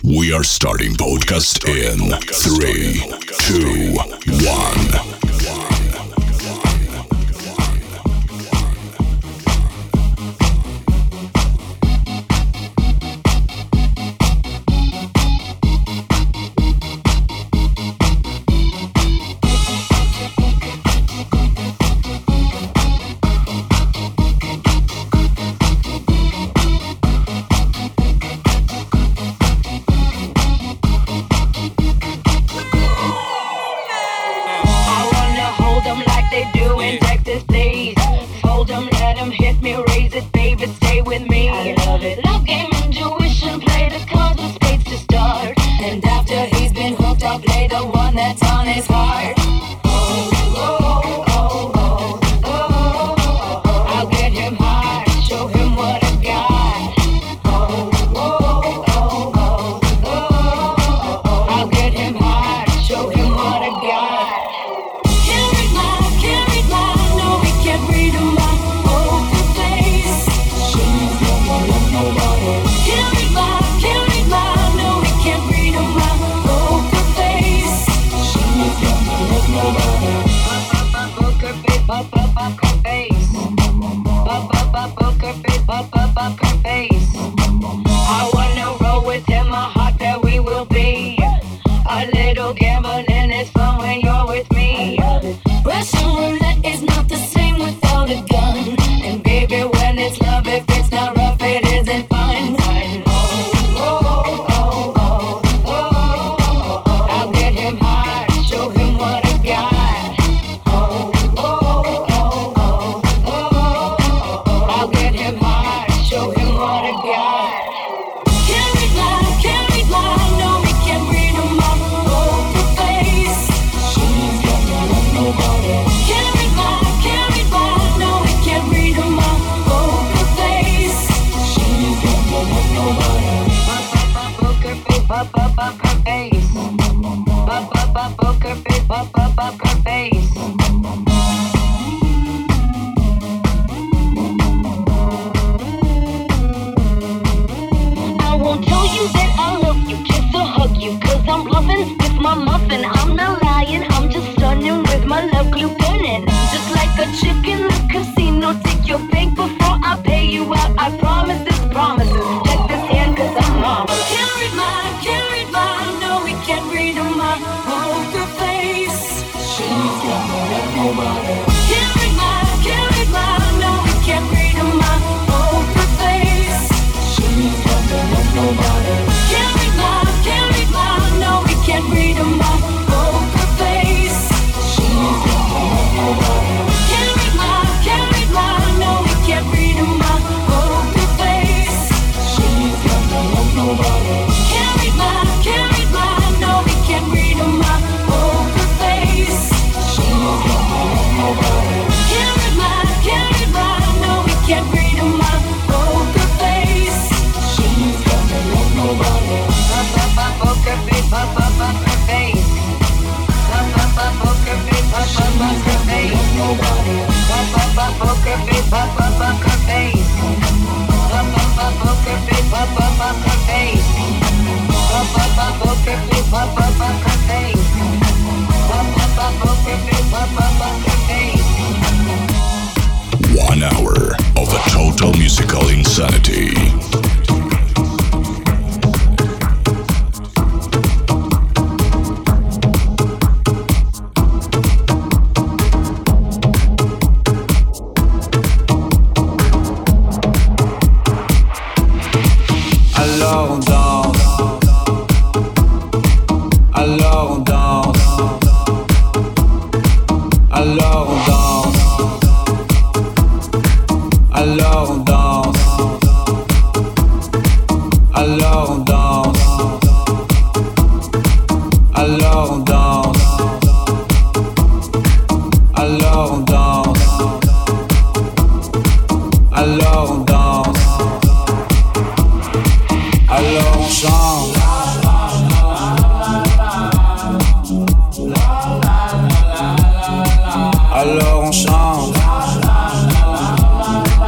We are starting podcast in 3, 2, 1.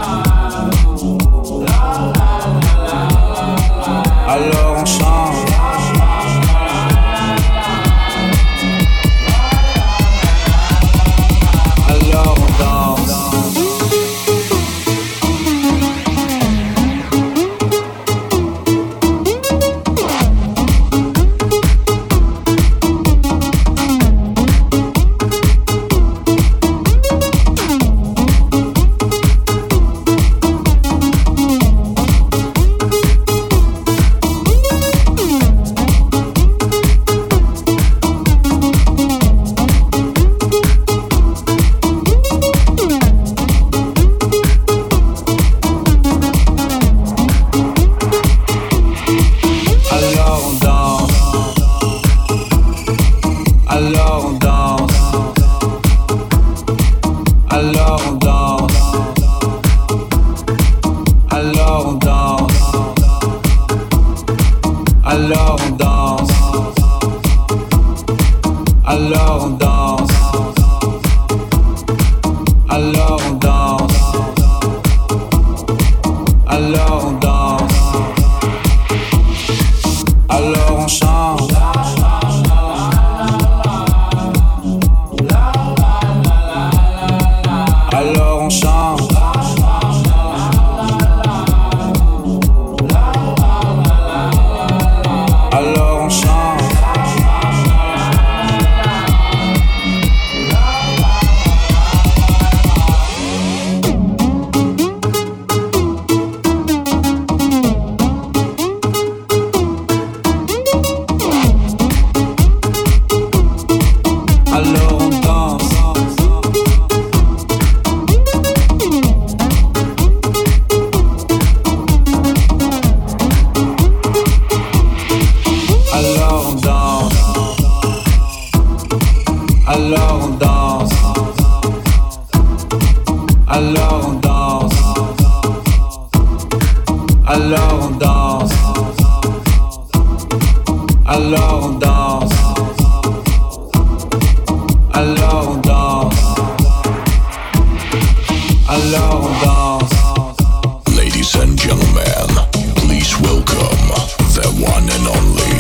Alors on chante. Alors on danse. Alors on danse. Alors on danse. Alors on danse. Alors on chante. Alors on chante. Alors on chante. Alors on danse. Alors on danse. Alors on danse. Alors on danse. Alors on danse. Alors on danse. Alors on danse. Alors on danse. Ladies and gentlemen, please welcome the one and only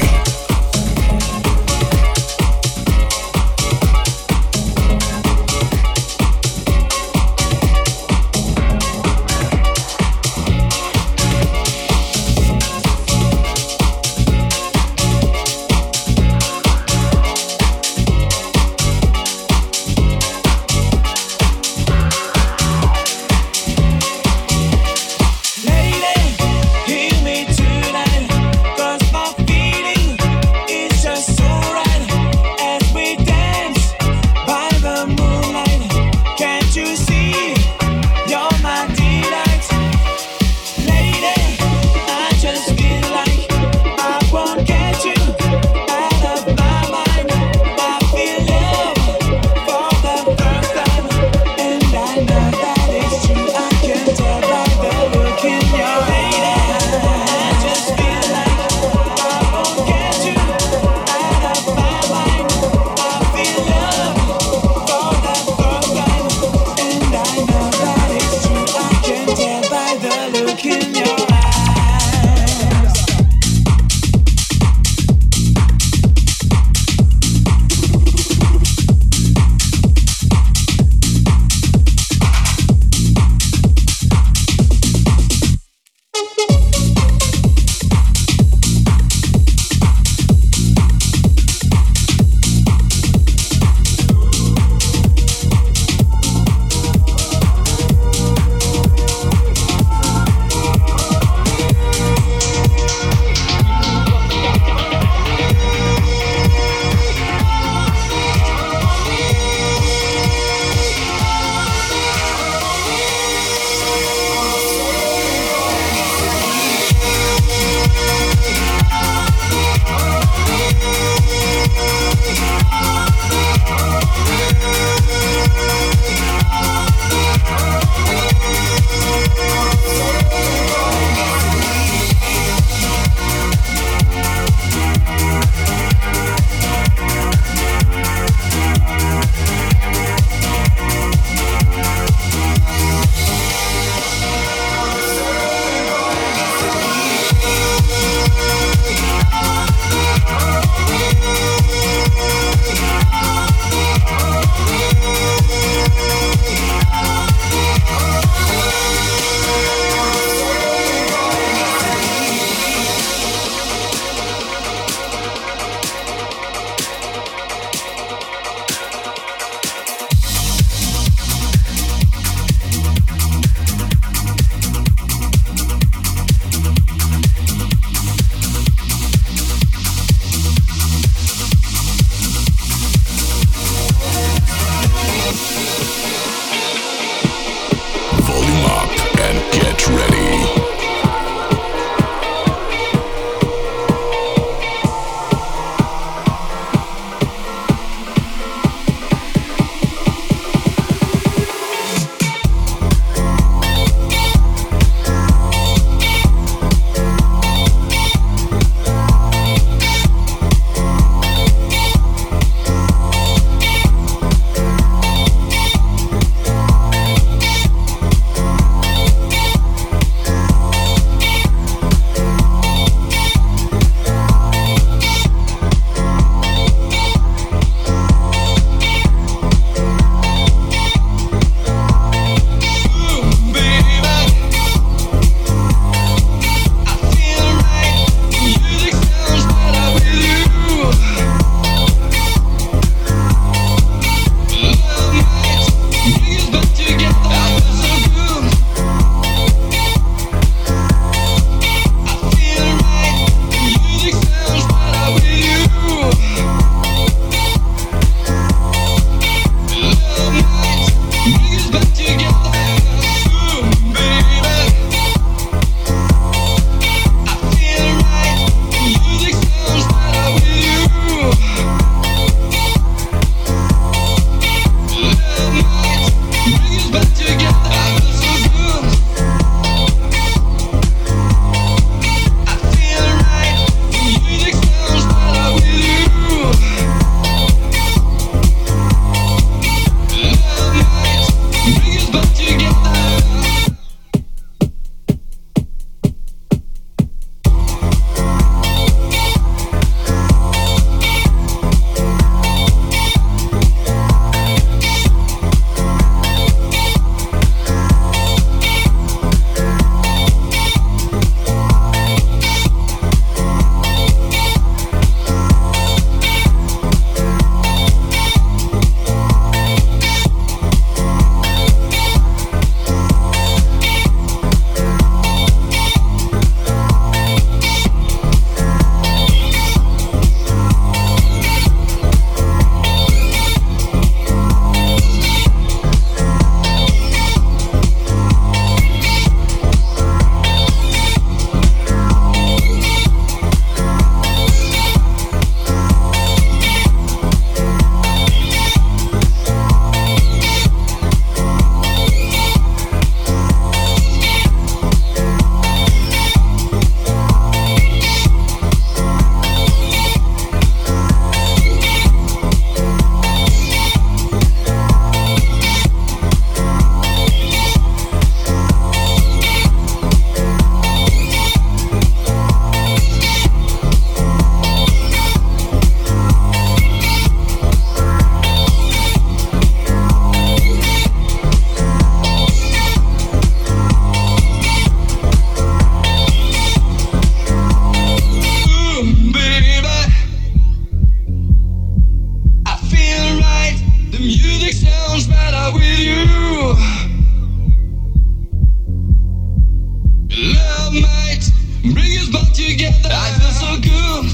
good.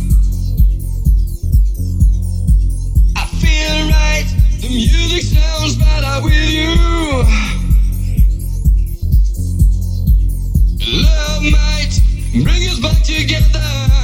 I feel right. The music sounds better with you. Love might bring us back together.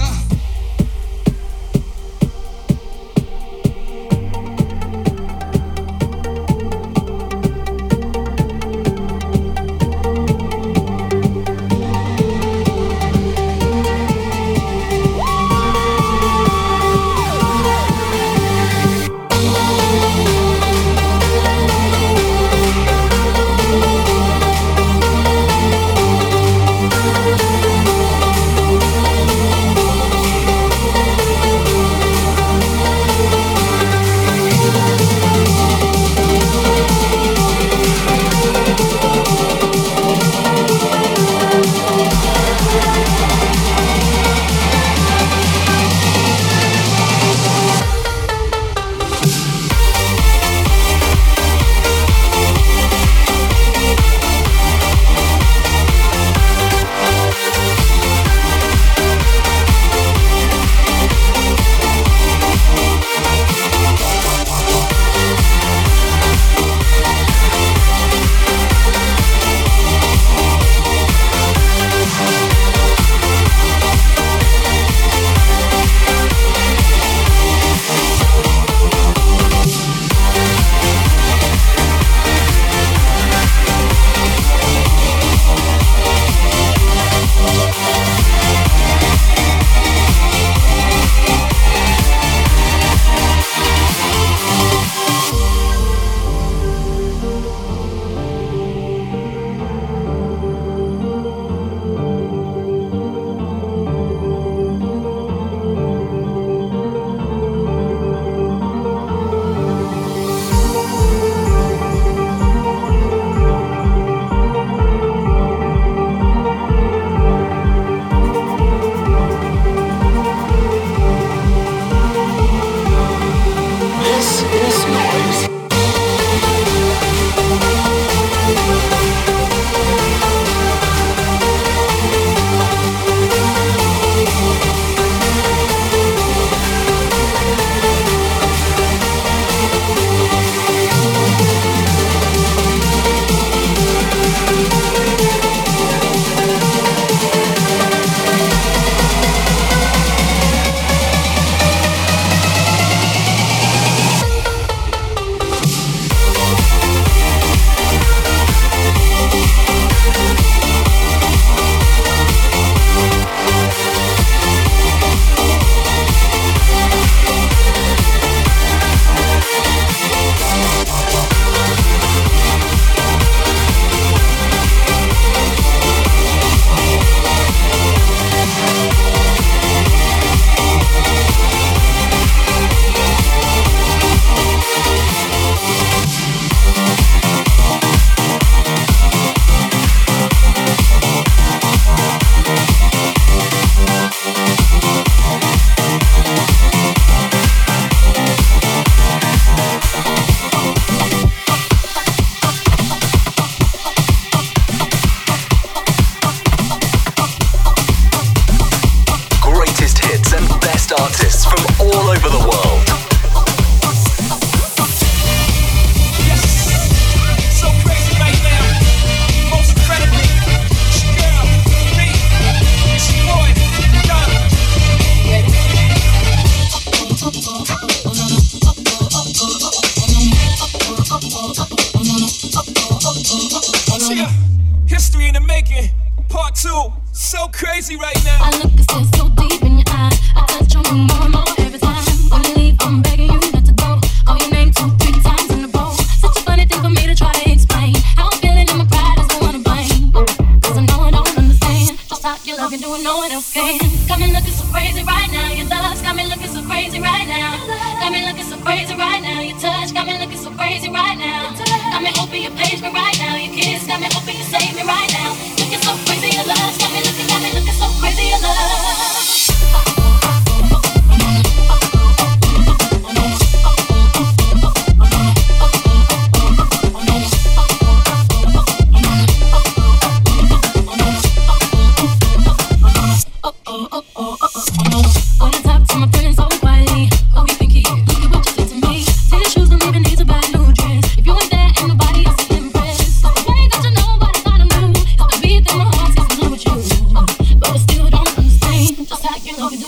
History in the making, part 2. So crazy right now. I look and stare so deep in your eyes. I touch on you more and more every time. When you leave, I'm begging you not to go. Call your name 2-3 times in a row. Such a funny thing for me to try to explain. How I'm feeling and my pride is the one to blame. Cause I know I don't understand just how your love can do and no one else can. Got me looking so crazy right now. Your love's got me looking so crazy right now. Got me looking so crazy right now. Your touch got me looking so crazy right now. Got me hoping you page me right now. Your kiss got me hoping you save me right now. Looking so crazy, your love's got me looking so crazy, your love.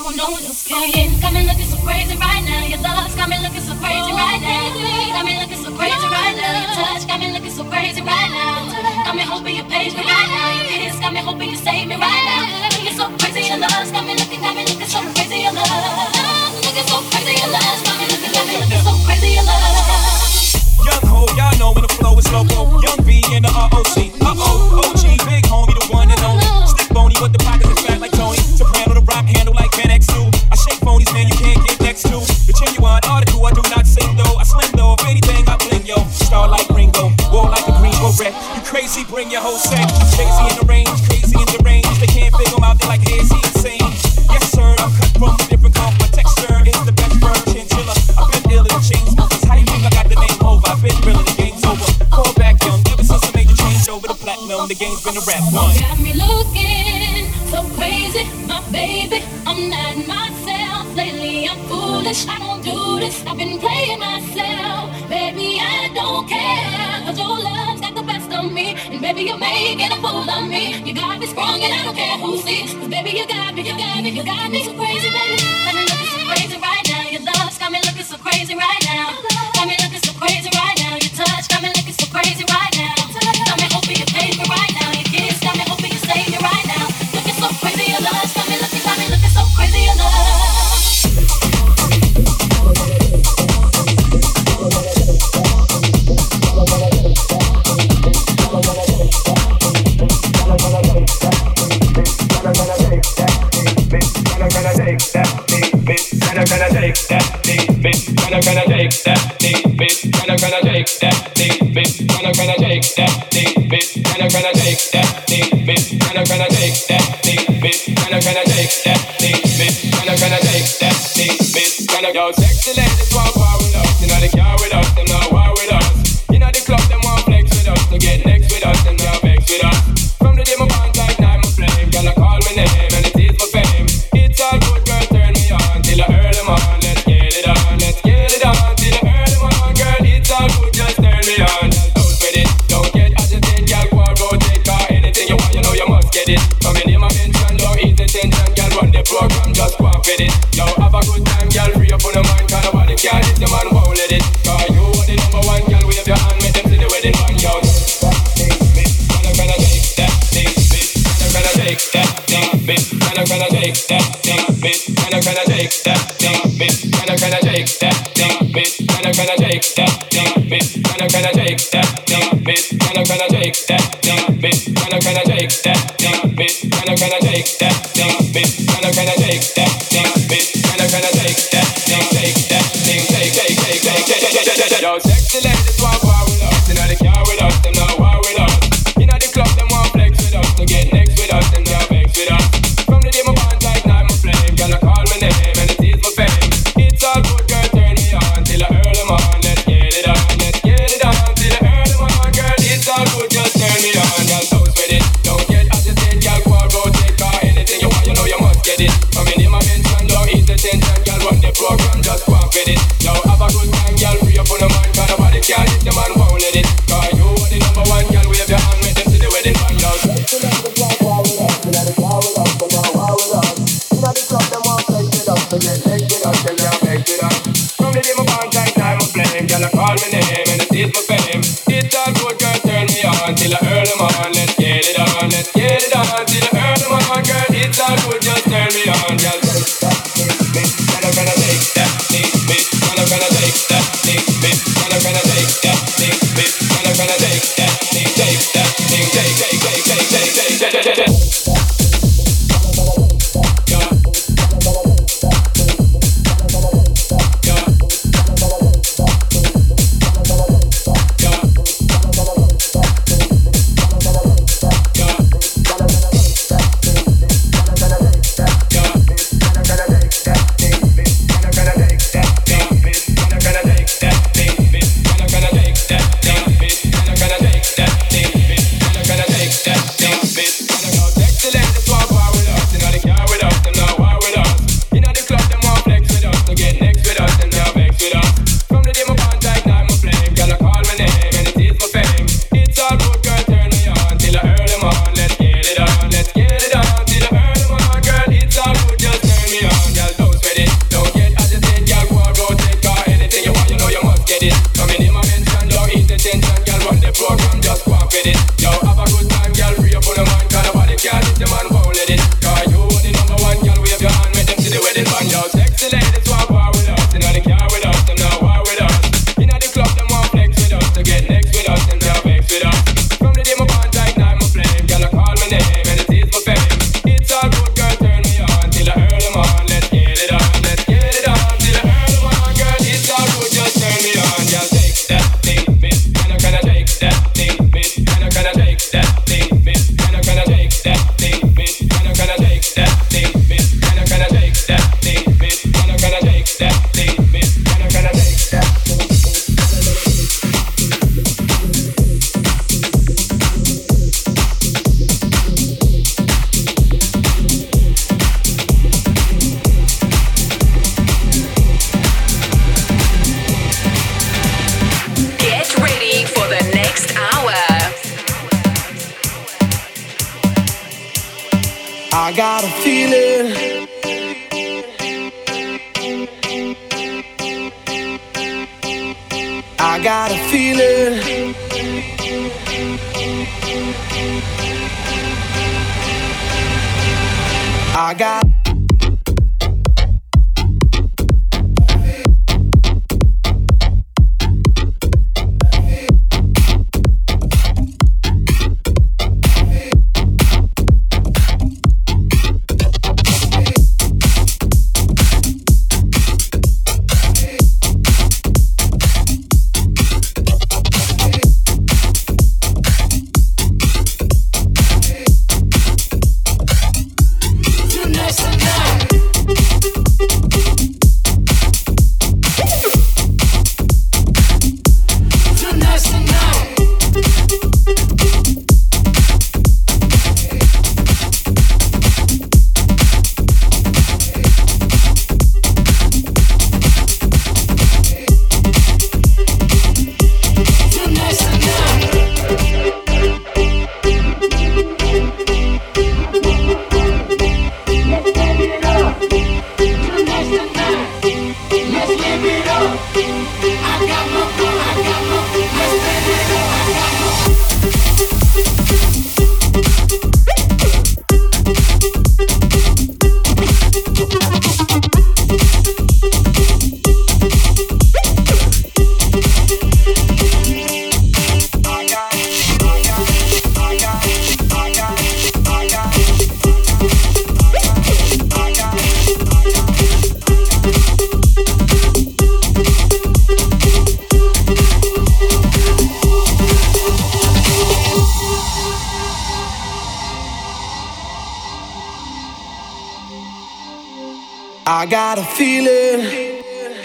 no one else can. Got me looking so crazy right now. Your love's got me looking so crazy right now. Got me looking so crazy right now. Your touch got me looking so crazy right now. Got me hoping you page me right now. Your kiss got me hoping you save me right now. Looking so crazy, your love's got me looking so crazy, your love. Looking so crazy, your love's got me looking so crazy, your love. Young ho, y'all know when the flow is loco. Young B in the ROC. OG, big homie, the one and only. Stick bony, but the pockets is fat like Tony. Soprano, the rock handle like Ben X2. I shake phonies, man, you can't get next to. The genuine article, I do not sing though. I slim though, if anything, I bling yo. Star like Ringo, war like a green beret. You crazy, bring your whole set. Crazy in the range, crazy in the range. They can't figure him out, they like, hey, is he insane? Yes, sir, I'm cut from a different cloth. My texture is the best version. Chiller, I've been ill in the chain smokers. How you think I got the name over? I've been real, the game's over. Call back young, ever since I made the change over the platinum, the game's been a rap one. Got me looking so crazy, my baby. I'm not myself. Lately I'm foolish, I don't do this. I've been playing myself. Baby, I don't care, 'cause your love's got the best of me. And baby, you're making a fool of me. You got me sprung and I don't care who sees. 'Cause baby, you got me so crazy, baby. Got me looking so crazy right now. Your love's got me looking so crazy right now. Got me looking so crazy right now. Your touch got me looking so crazy right now. Got me hoping you pay me right now. Your kiss got me hoping you save me right now. Looking so crazy, your love's got me looking so crazy, your love. Yo, sexy ladies want war with us. You know the car with us, them not war with us. You know the club, them want flex with us. To get next with us, them not vex with us. From the day my bond like night my flame, girl I call my name and it is my fame. It's all good, girl, turn me on till I earn them on. Let's get it on, let's get it on till I earn them on. Girl, it's all good, just turn me on. Don't sweat it, don't get agitated, girl, go and rotate. Cause anything you want, you know you must get it. Come in, my mention, don't ease the tension, girl, run the program, just go and fit it. Yo, have a good time, girl, free up on the mind, cause nobody can hit the man, won't let it. Cause you are the number one, girl, wave your hand, make them see the wedding band, yo. Gonna take that thing, bitch. Gonna take that thing, bitch. Gonna take that thing, bitch. Gonna take that thing, bitch. Gonna take that thing, bitch. Gonna take that thing, bitch. Gonna take that thing, bitch. Gonna take that thing, bitch. Gonna take that thing, bitch. Gonna take that thing, bitch. Gonna take that thing, bitch. Gonna take that thing, take that thing, take. Yo, sexy ladies want war with us. You know the car with us, them not war with us. You know the club, them want flex with us. To get next with us, them not vex with us. From the day my bond like night my flame, girl I call my name and it is my fame. It's all good, girl, turn me on till I earn them on. Let's get it on, let's get it on till I earn them on. Girl, it's all good, just turn me on. Girl, don't sweat it, don't get agitated, girl, go and rotate. Cause anything you want, you know you must get it. Come in my mention, don't ease the tension, girl, run the program, just go and fit it. Yo, have a good time, girl, free up on the mind, cause nobody can hit the man, won't let it. Cause you are the number one, girl, wave your hand, make them see the wedding band, yo. From the day my bond like time I flame, girl I call my name and it is my fame. It's all good, girl, turn me on till I earn them on. Let's get it on, let's get it on till I earn them on. Girl, it's all good, just turn me on, girl. Gonna take that thing, bitch. Gonna take that thing, bitch. Gonna take that thing, bitch. Gonna take that thing, take that thing, take. Yeah. Yo, sexy ladies want war with us. You know the car with us, them now war with us. You know the club, them want flex with us. To get next with us, them now vex with us. From the day my bond ignite my flame, girl I call my name and it is my fame. It's all good, girl, turn me on till I earn them on. Let's get it on, let's get it on till I earn them on, girl. It's all good, just turn me on. Just take that thing, miss. Can I take that thing, miss? Can I take that thing, miss? Can I take that thing, miss? Can I take that thing, miss? Can I take that thing, miss? Can I take that thing, miss? Can I take that thing? Get ready for the next hour. I got a feeling. I got a feeling. I got. I got a feeling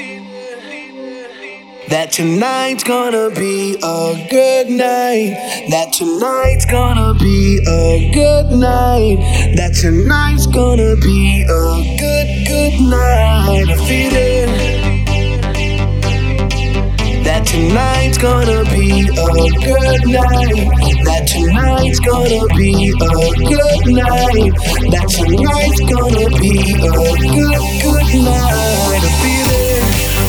that tonight's gonna be a good night. That tonight's gonna be a good night. That tonight's gonna be a good night. A feeling that tonight's gonna be a good night. That tonight's gonna be a good night. That tonight's gonna be a good night. A feeling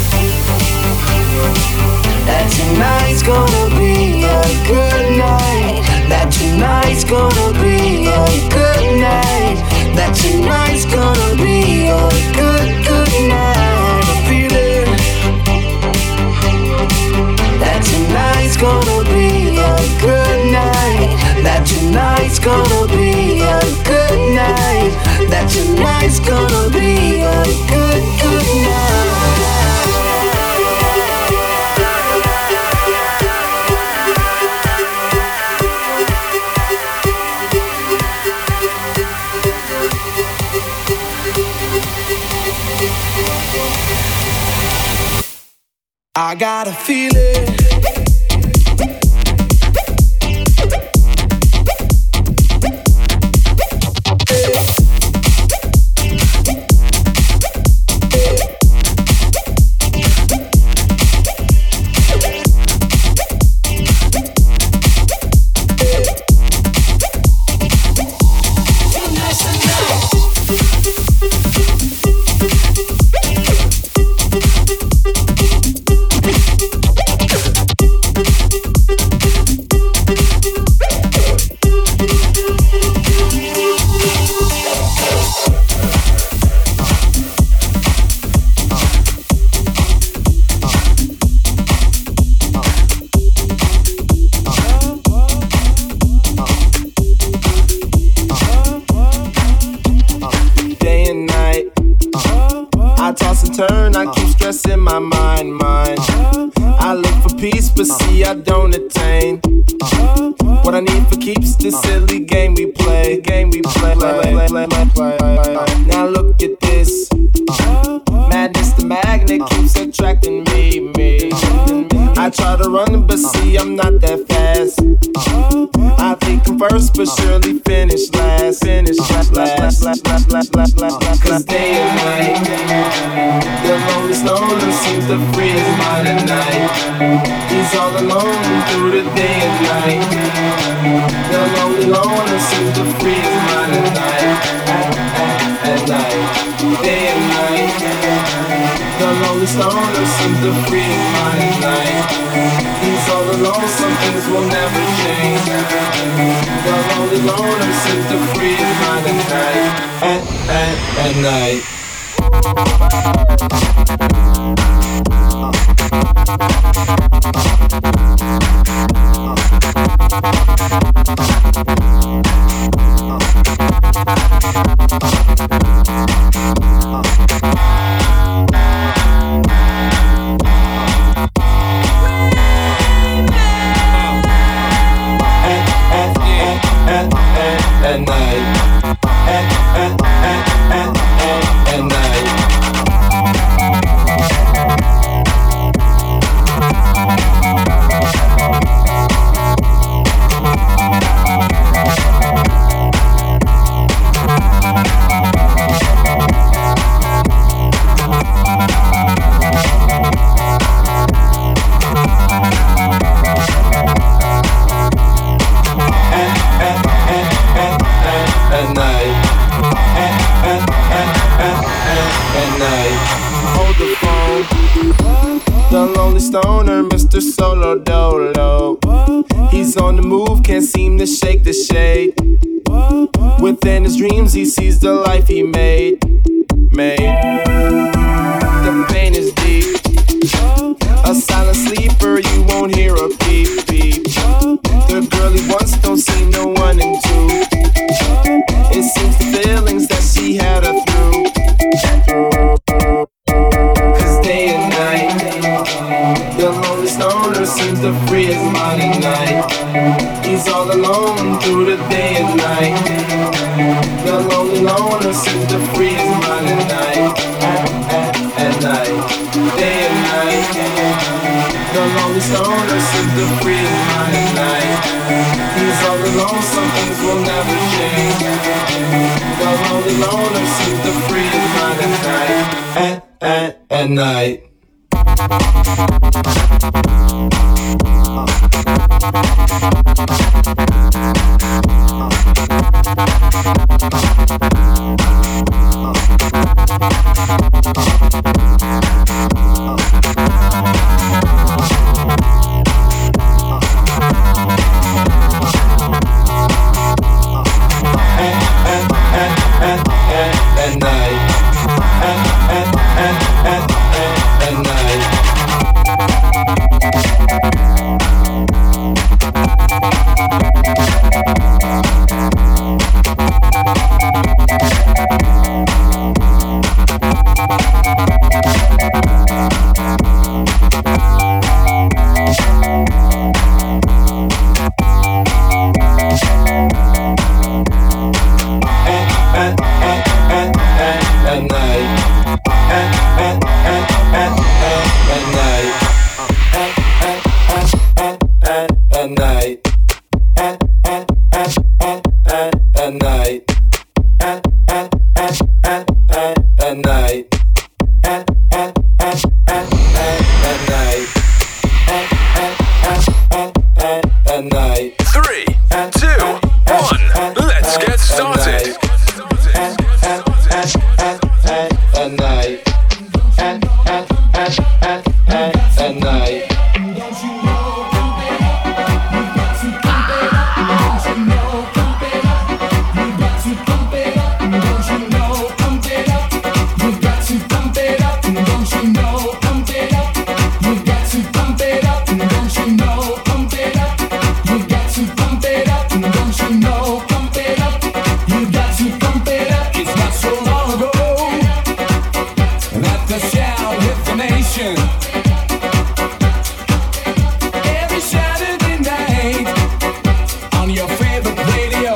that tonight's gonna be a good night. That tonight's gonna be a good night. That tonight's gonna be a good night. A feeling that tonight's gonna be a good night. That tonight's gonna be a good night. That tonight's gonna be a good night. I got a feeling. toss and turn, I keep stressing my mind. I look for peace, but see I don't attain. What I need for keeps this silly game we play. Now look at this. Madness, the magnet keeps attracting me. I try to run, but see I'm not that fast. I think I'm first, but surely finish last. Cause day and night, the lonely stoner seems to free his mind at night. He's all alone through the day and night. The lonely loner seems to free his mind at night. At night, day and night. The lonely stoner seems to free his mind at night. He's all alone, some things will never change. The lonely loner seems to free his mind at night. At night. At night. Hold the phone. The lonely stoner, Mr. Solo Dolo. He's on the move, can't seem to shake the shade. Within his dreams, he sees the life he made. The pain is deep. A silent sleeper, you won't hear a peep. The girl he wants don't see no one in two. It seems the feelings that she had her through. Cause day and night, the lonely stoner seems to free his mind at night. He's all alone through the day and night. The lonely loner seems to free his mind at night. At night, day and night. The lonely stoner seems to free his mind at night. He's all alone, some things will never change. The lonely loner seems to free his mind at night. At night. nation. Every Saturday night on your favorite radio.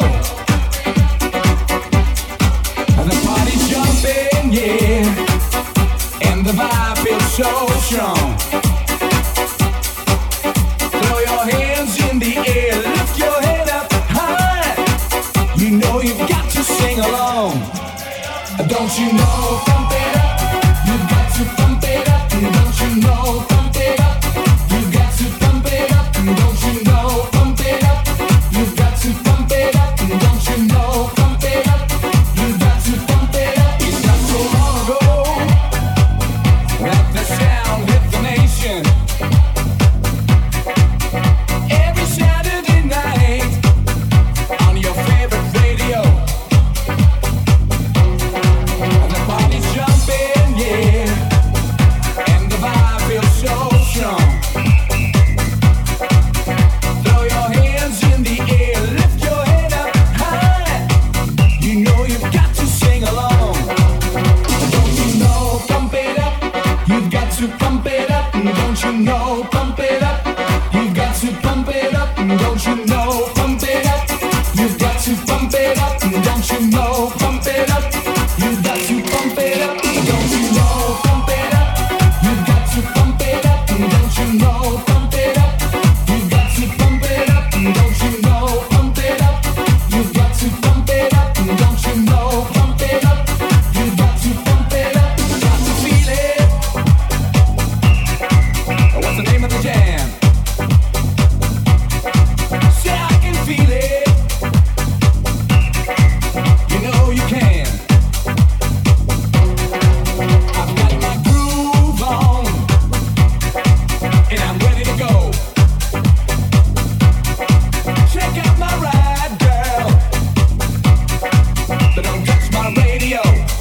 And the party's jumping, yeah, and the vibe feels so strong. Throw your hands in the air, lift your head up high. You know you've got to sing along. Don't you know, pump it up. You've got to pump it up. Don't you know, pump it up. You've got to pump it up. Don't you know, pump it up. You've got to pump it up. Don't you know, pump it up. You've got to pump it up. It's not so long ago that the sound hit the nation. Every Saturday night on your favorite radio. And the party's jumping, yeah, and the vibe feels so strong. Throw your hands in the air, lift your head up high. You know you've got to sing along. Don't you know, pump it up. You've got to pump it up. Don't you know, pump it up. You've got to pump it up. Don't you know, pump it up. You've got to pump it up. Don't you know, pump it up. You've got to pump it up. Don't you know, pump it up. You've got to pump it up. Don't you know, pump it up. You've got to pump it up. Don't you know, pump it up. You've got to pump it up. Don't you know, pump it up. You've got to pump it up. Got to feel it. What's the name of the jam? Say I can feel it. You know you can. I've got my groove on, and I'm ready to go. Check out my ride, girl, but don't touch my radio.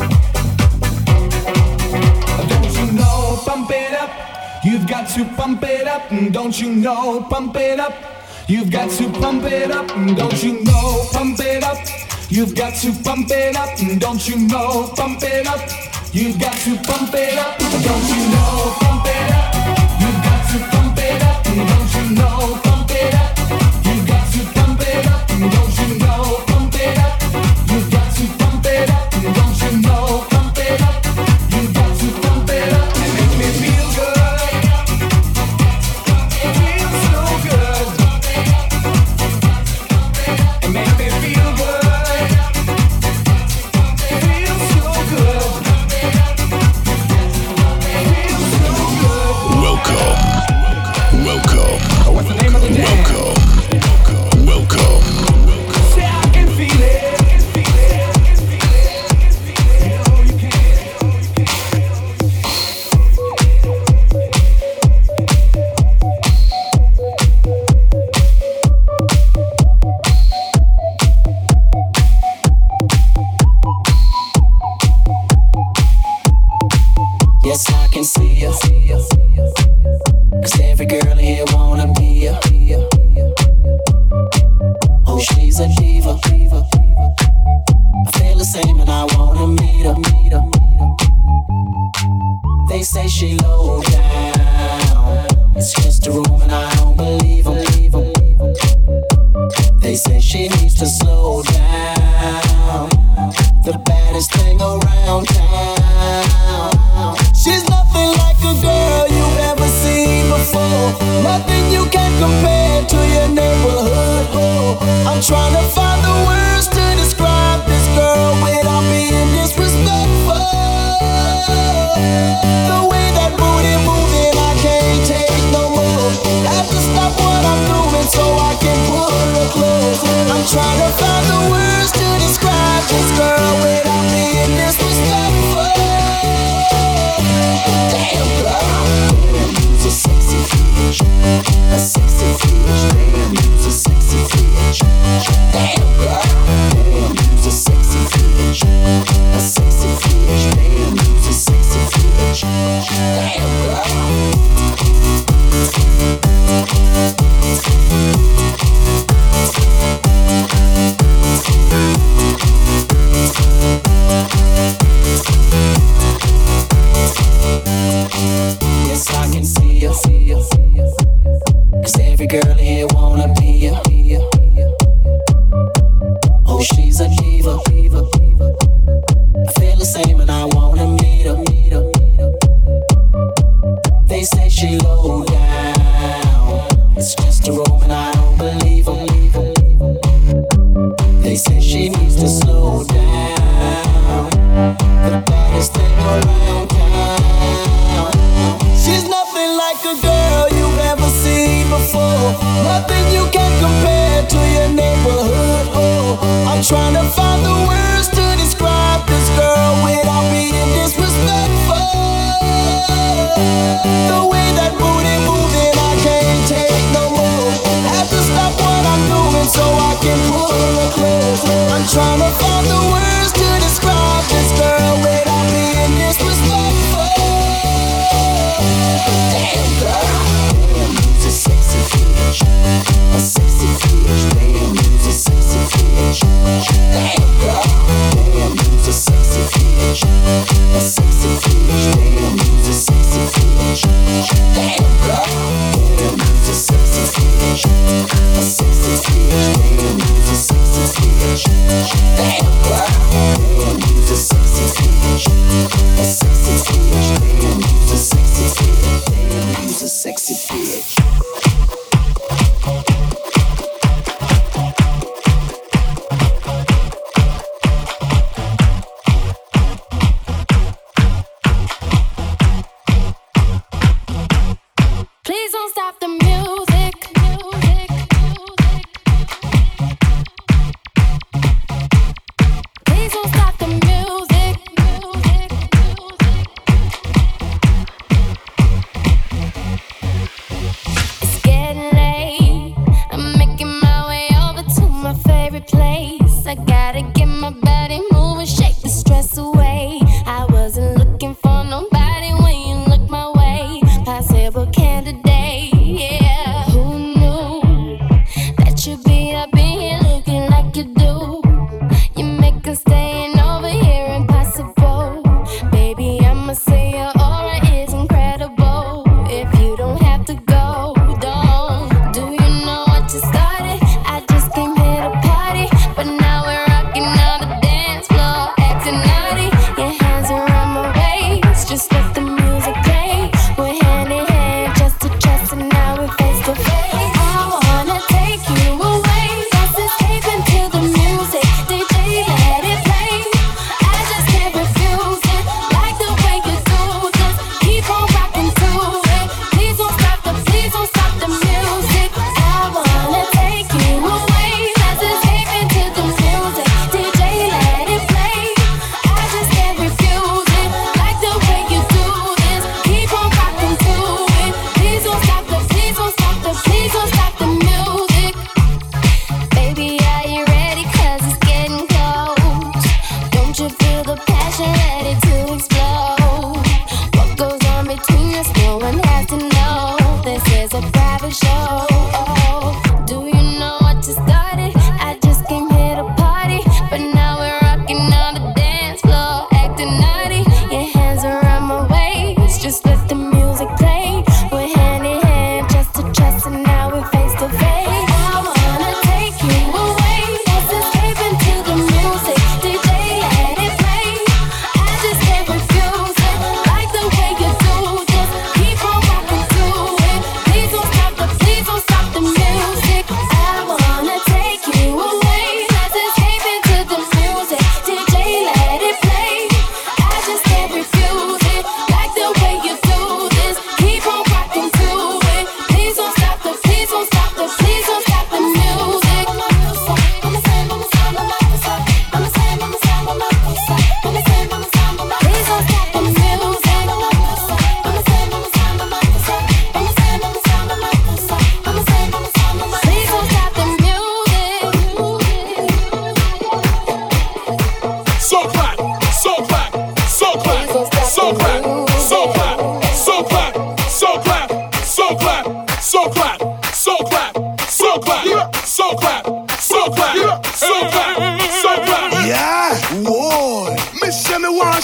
Don't you know, pump it up. You've got to pump it up. Don't you know, pump it up. You've got to pump it up. Don't you know, pump it up. You've got to pump it up. Don't you know, pump it up. You've got to pump it up. Don't you know, pump it up. You've got to pump it up. Don't you know, pump it up. You've got to pump it up. Don't you know, pump it up. You've got to pump it up. Don't you know, pump it up. You've got to pump it up and make me feel good. It feels so good. And make me feel good. It feels so good. It feels so good. Welcome. Welcome. What's the name of the jam? Welcome. Welcome. Say I can feel it. You know you can. Yes, I can see you. 'Cause every girl here wanna be ya. Oh, she's a diva. I feel the same and I wanna meet her. They say she low down. It's just a room and I don't believe 'em. They say she needs to slow down. The baddest thing around town. She's nothing like a girl you've ever seen before. Nothing you can compare to your neighborhood. I'm trying to find the words to describe this girl without being disrespectful. The way that booty moving, I can't take no more. Have to stop what I'm doing so I can pull her close. I'm trying to find the words to describe this girl without being disrespectful. Damn girl, damn, you's a sexy bitch, a sexy bitch. Damn, you's a sexy bitch. Damn girl, damn, you's a sexy bitch, a sexy bitch. Damn, you's a sexy bitch. Damn girl. Yes, I can see you. 'Cause every girl here wanna be you. Oh, she's a diva. I feel the same and I wanna meet her. They say she low down. It's just a room and I don't believe them. They say she needs to slow down. The baddest thing around town. She's nothing like a girl you've ever seen before. Nothing you can compare to your neighborhood. Oh, I'm trying to find the words to describe this girl without being disrespectful. The way that booty moving, I can't take no more. Have to stop what I'm doing so I can pull her close. I'm trying to find the words to describe this girl without being disrespectful. Damn girl, damn, you's a sexy bitch, a sexy bitch. Damn, you's a sexy bitch. Damn girl, damn, you's a sexy bitch, a sexy bitch. Damn, you's a sexy bitch. Damn girl, damn, you's a sexy bitch, a sexy bitch. Damn, you's a sexy bitch. Damn girl, damn, you's a sexy bitch, a sexy bitch. Damn, you's a sexy bitch. Damn, you's a sexy bitch. Please don't stop the music. Please don't stop the music. It's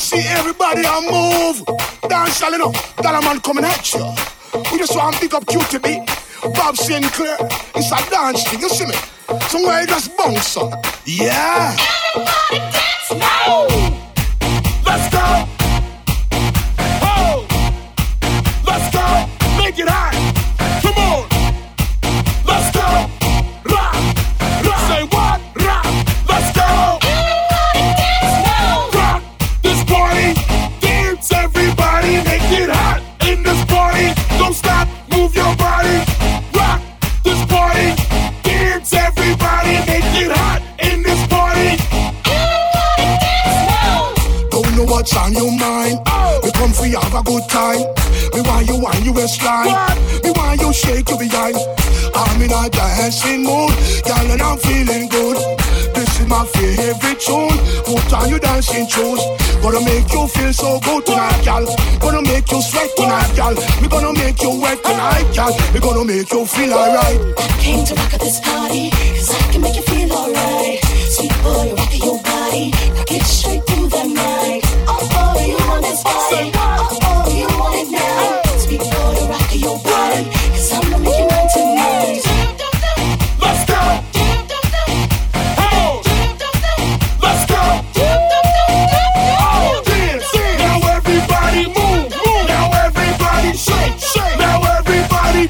see everybody on move. Dance, you know, Dollar Man coming at you. We just want to pick up QTB, Bob Sinclair. It's a dance thing, you see me? Somewhere you just bounce on. Yeah. Everybody dance now. Let's go. Oh. Let's go. Make it hot. Come on. Let's go. Rock. Rock. Say what? Rock. Let's go. Everybody dance now. Rock this party. Dance everybody. Make it hot in this party. Don't stop. Move your body. Rock this party. Dance everybody. Make it hot in this party. Everybody dance now. Don't know what's on your mind. We come for you, have a good time. Me want you on your waistline. Me want you shake your behind. I'm in a dancing mood, girl, and I'm feeling good. This is my favorite tune. Put on your dancing shoes. Gonna make you feel so good tonight, girl. Gonna make you sweat tonight, girl. We gonna make you wet tonight, girl. We gonna make you feel alright. I came to rock at this party, 'cause I can make you feel alright. Sweet boy, rock your body, rock it straight through the night. Oh, you want this body? Oh, you want it now? Sweet boy, rock your body, 'cause I'm gonna make you mine tonight. Let's go. Oh. Let's go. Oh, dance. Now everybody move. Now everybody shake. Now everybody.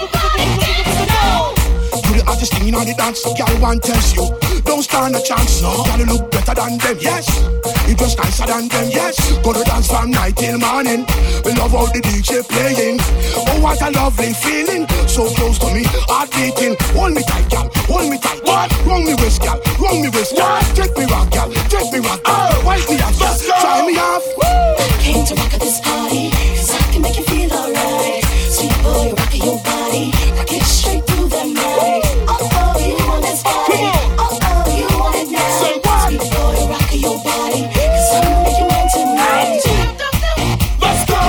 Do the hottest thing on the dance, girl, one tells you. Don't stand a chance, no. Gotta look better than them, yes. It was nicer than them, yes. Gonna dance from night till morning. We love all the DJ playing. Oh, what a lovely feeling. So close to me, heart beating. Hold me tight, girl, hold me tight. What? Wrong me wrist, girl, wrong me wrist, girl. Take me rock, girl, take me rock, girl. Wipe me off, girl, try me off. I came to rock at this party, 'cause I can make you feel alright. Sweet boy, rock your body, rock it straight through the night. Oh, you want this body? Oh, you want it now? Say what? Sweet boy, rock your body, 'cause I'm gonna make you mine tonight. Let's go.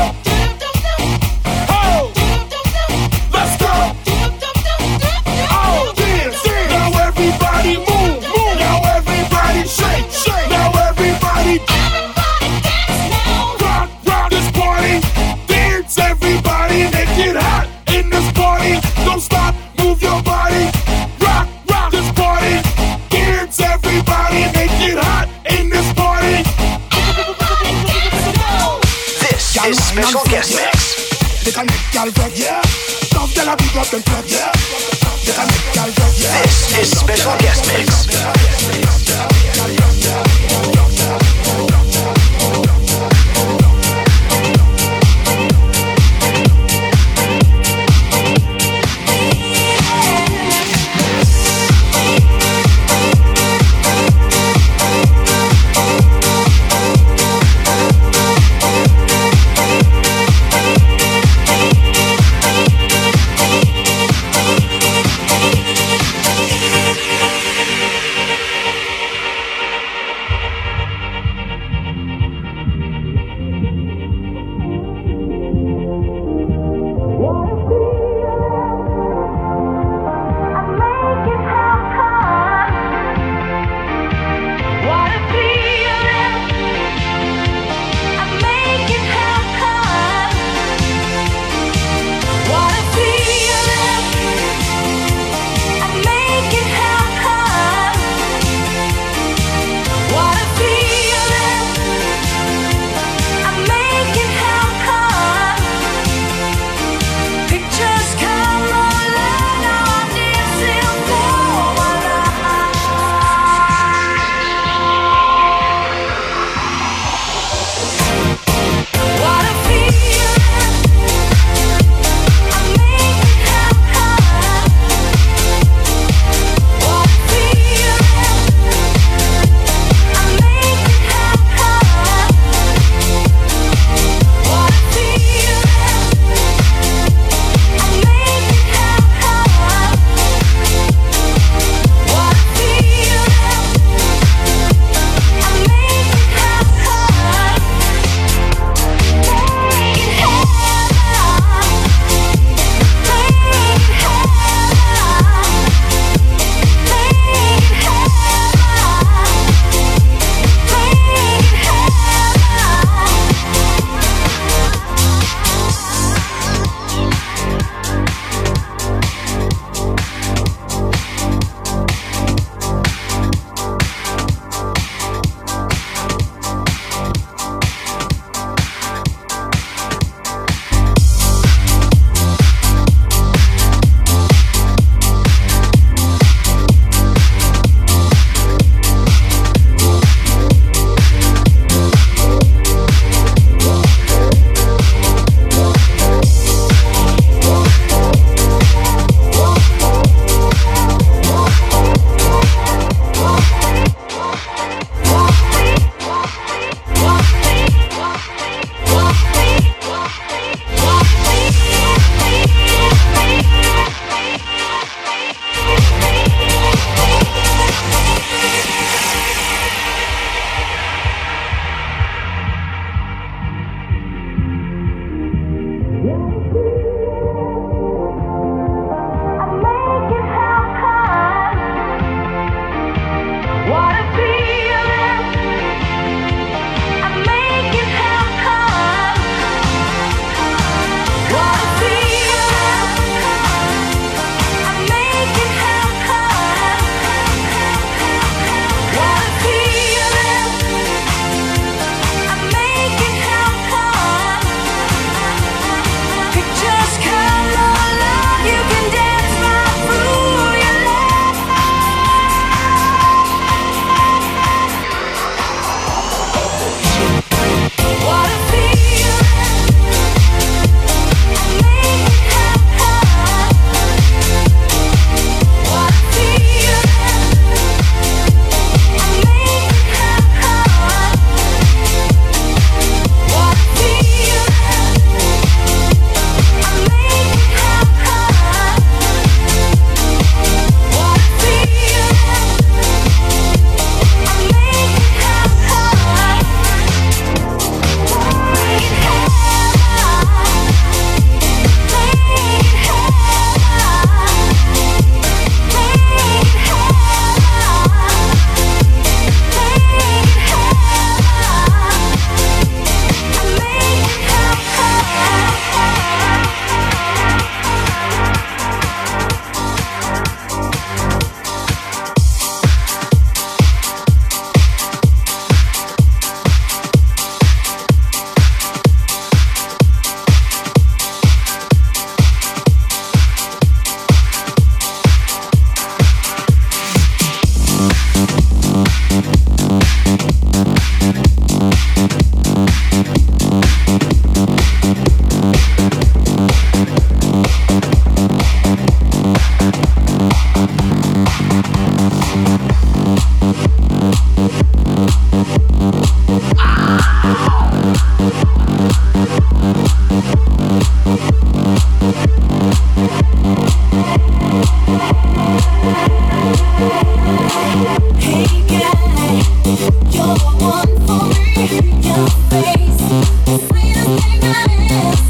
Oh. Let's go. Oh, dance. Now everybody move. Now everybody shake. Now everybody. Dance now. Rock this party. Dance everybody. Make it hot in this party. Don't stop. Move your body. Rock this party. Dance everybody. Make it hot in this party. This is special guest mix. They can make y'all break, yeah. Love y'all, big up them plug, yeah. They can make y'all break, yeah. This is special guest mix.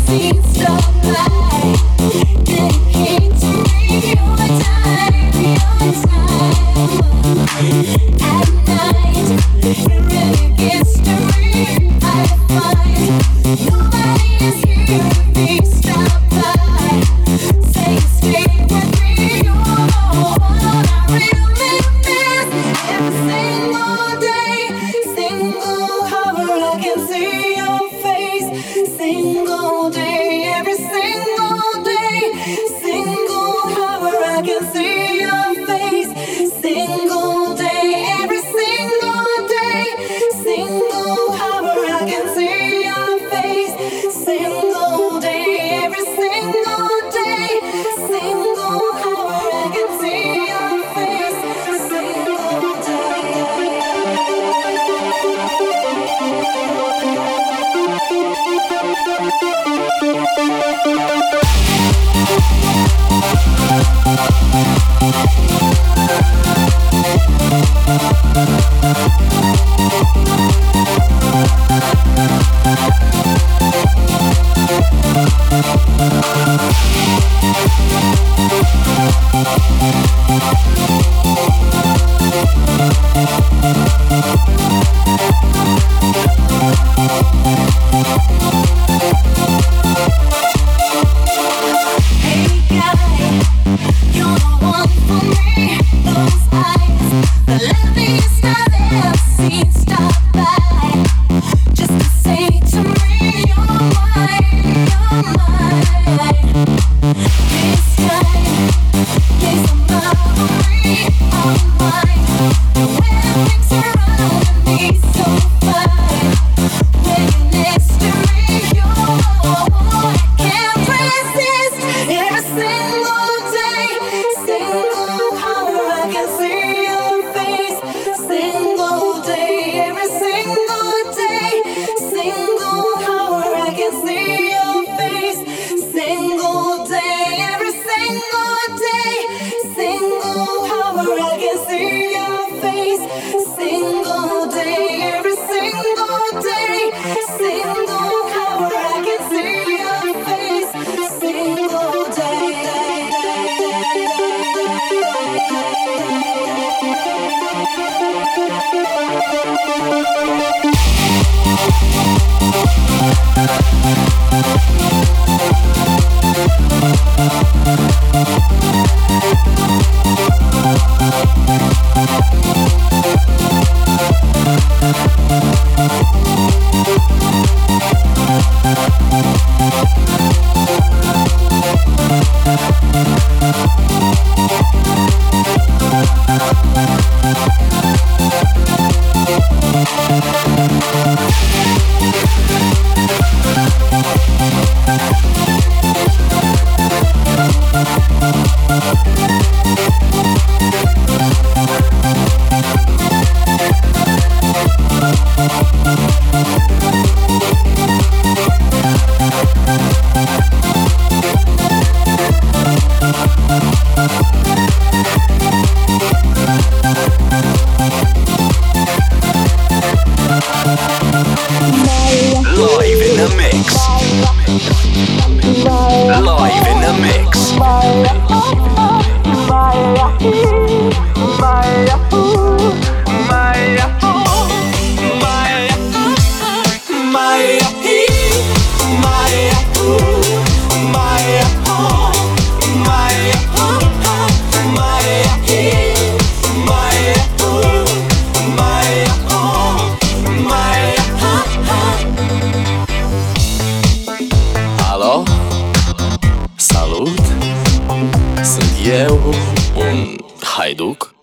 haiduc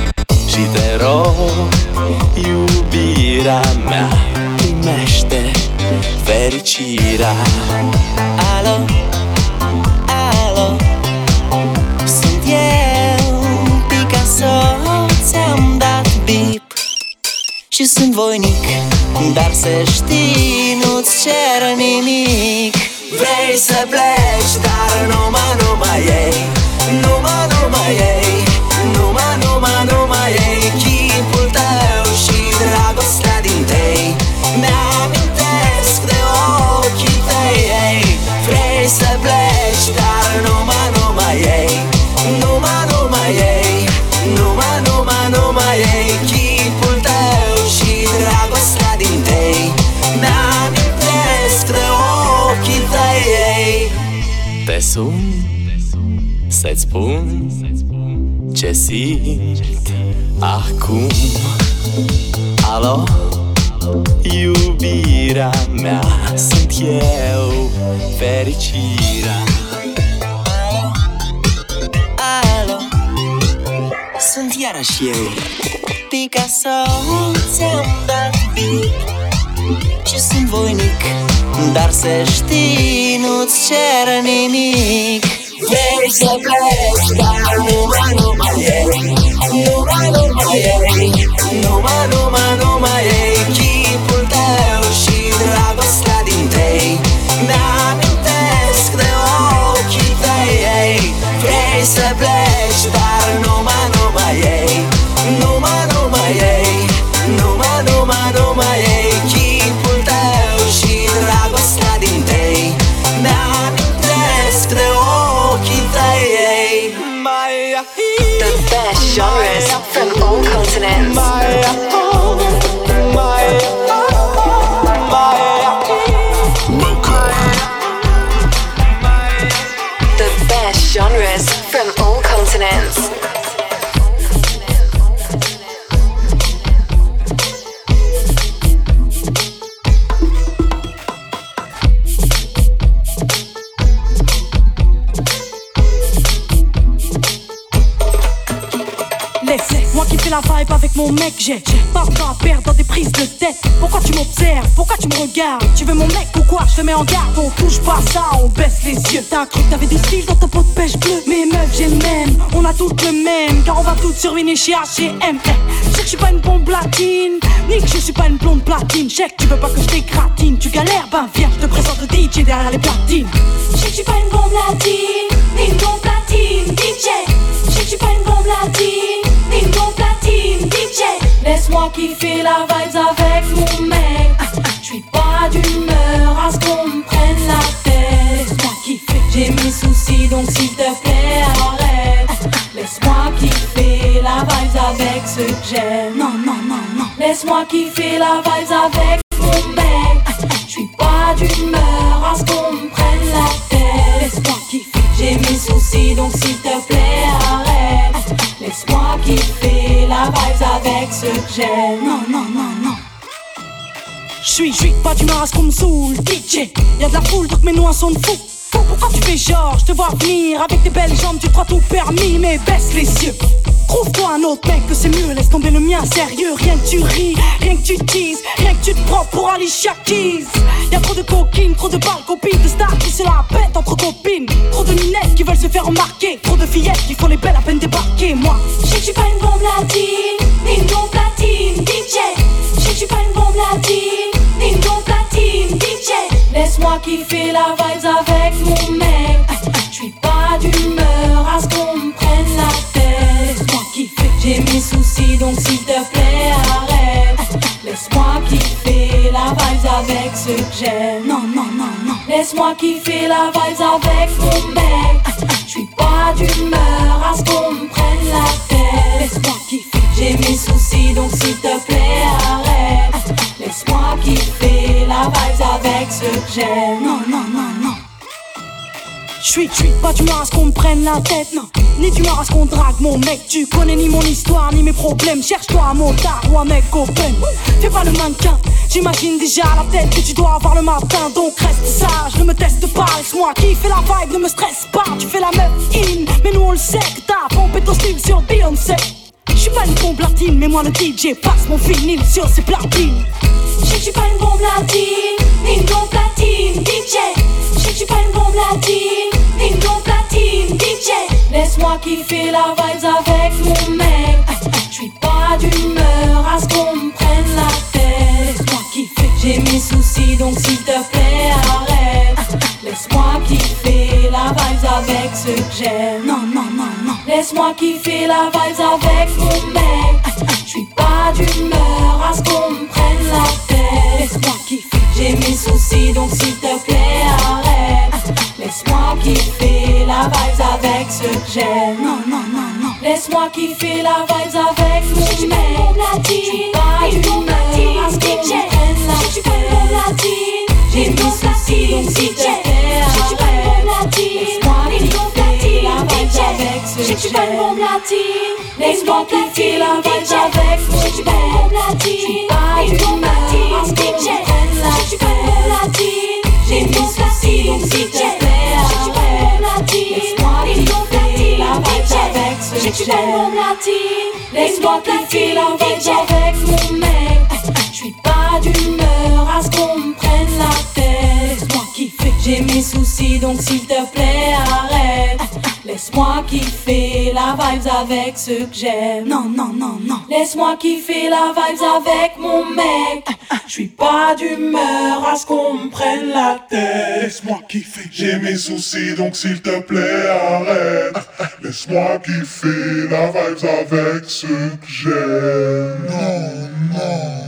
și te rog, iubirea mea, primește fericirea. Alo, alo, sunt eu, Picasso, ți-am dat bip și sunt voinic, dar să știi, nu-ți cer nimic. Vrei să pleci, dar numai ei, numai ei, numai ei chipul tău și dragostea din tei. Mi-amintesc de ochii tăi, ei. Te sun să-ți spun ce simt acum. Alo, iubirea mea, sunt eu, fericirea. Alo, sunt iarăși eu, Picasso, ți-am dat beat și sunt voinic, dar să știi, nu-ți cer nimic. Vrei să pleci, dar numai ei, numai ei, numai ei, chipul tău și dragostea din tei mi-amintesc de ochii tăi. Vrei să pleci, dar numai ei, numai ei, numai ei, chipul tău și dragostea din tei mi-amintesc de ochii tăi. The best genres from all continents. The best genres from all continents. Moi qui fais la vibe avec mon mec, j'ai pas de temps à perdre dans des prises de tête. Pourquoi tu m'observes, pourquoi tu me regardes? Tu veux mon mec ou quoi? Je te mets en garde, on touche pas ça, on baisse les yeux. T'as cru que t'avais du style dans ton pot de pêche bleu. Mais meuf j'ai le même, on a toutes le même, car on va toutes surviner chez H&M. Je sais que je suis pas une bombe latine, ni que je suis pas une blonde platine. Je sais que tu veux pas que je t'écratine, tu galères, ben viens, je te présente le DJ derrière les platines. Je sais que je suis pas une bombe latine, ni une bombe platine, DJ. Je sais que je suis pas une bombe latine, ni une bombe platine, DJ. Laisse-moi kiffer la vibes avec mon mec. J'suis pas d'humeur à ce qu'on me prenne la tête. Laisse-moi kiffer, j'ai mes soucis donc s'il te plaît arrête. Laisse-moi kiffer la vibes avec ceux que j'aime. Non, non, non, non. Laisse-moi kiffer la vibes avec mon mec. J'suis pas d'humeur à ce qu'on me prenne la tête. Laisse-moi kiffer, j'ai mes soucis donc s'il te plaît arrête. Laisse-moi kiffer la vibes avec ceux que j'aime. non, non, non, non. J'suis pas d'humeur à ce qu'on me saoule, DJ. Y'a de la foule donc mes noix sont de fou. Pourquoi tu fais genre, je te vois venir avec tes belles jambes, tu crois tout permis, mais baisse les yeux. Trouve-toi un autre mec que c'est mieux, laisse tomber le mien sérieux. Rien que tu ris, rien que tu teases, rien que tu te prends pour Alicia Keys. Y'a trop de coquines, trop de balles, copines de stars qui se la pètent entre copines. Trop de minettes qui veulent se faire remarquer, trop de fillettes qui font les belles à peine débarquer. Moi, je sais que je suis pas une bombe latine, ni une bombe platine, DJ. Je sais que je suis pas une bombe latine, ni une bombe platine, DJ. Laisse-moi kiffer la vibes avec mon mec. J'suis pas d'humeur à ce qu'on me prenne la tête. Laisse-moi kiffer, j'ai mes soucis donc s'il te plaît arrête. Laisse-moi kiffer la vibes avec ceux que j'aime. non, non, non, non. Laisse-moi kiffer la vibes avec mon mec. J'suis pas d'humeur à ce qu'on me prenne la tête. Laisse-moi kiffer, j'ai mes soucis donc s'il te plaît arrête. Laisse-moi kiffer la vibes avec ceux que j'aime. non, non, non, non. J'suis pas d'humeur à ce qu'on me prenne la tête, non. Ni d'humeur à ce qu'on drague mon mec. Tu connais ni mon histoire ni mes problèmes. Cherche-toi un motard ou un mec open. Fais pas le mannequin, j'imagine déjà la tête que tu dois avoir le matin. Donc reste sage, ne me teste pas. Laisse-moi kiffer la vibe, ne me stresse pas. Tu fais la meuf in, mais nous on le sait que t'as pompé ton style sur Beyoncé. J'suis pas une bombe latine, mais moi le DJ passe mon vinyle sur ses platines. Je sais que je suis pas une bombe latine, ni une bombe platine, DJ. Je sais que je suis pas une bombe latine, ni une bombe platine, DJ. Laisse-moi kiffer la vibes avec mon mec. J'suis pas d'humeur à ce qu'on me prenne la tête. Laisse-moi kiffer, j'ai mes soucis donc s'il te plaît arrête. Laisse-moi kiffer la vibes avec ceux que j'aime. non, non, non, non. Laisse-moi kiffer la vibes avec mon mec. J'suis pas d'humeur à ce qu'on me prenne la tête. Laisse-moi kiffer, j'ai mes soucis donc s'il te plaît arrête. Laisse-moi kiffer la vibes avec ceux que j'aime. non, non, non, non. Laisse-moi kiffer la vibes avec mon mec. J'suis pas d'humeur à ce qu'on me prenne la tête. J'ai mes soucis donc s'il te plaît arrête. tu veux une bombe latine, laisse-moi kiffer la vibe avec mon mec. Tu veux une bombe latine, pas une bombe latine, parce qu'on prenne la tête. Tu veux une bombe latine, j'ai mis soucis, donc s'il te plaît arrête. Laisse-moi kiffer la vibe avec ce que j'aime. Tu veux une bombe latine, laisse-moi kiffer la vibe avec mon mec. J'suis pas d'humeur à ce qu'on me prenne la tête. Laisse-moi kiffer, j'ai mes soucis donc s'il te plaît arrête. Laisse-moi kiffer la vibes avec ceux que j'aime. Non, non, non, non. Laisse-moi kiffer la vibes avec mon mec. J'suis pas d'humeur à ce qu'on me prenne la tête. Laisse-moi kiffer, j'ai mes soucis donc s'il te plaît arrête. Laisse-moi kiffer la vibes avec ceux que j'aime. Non, non.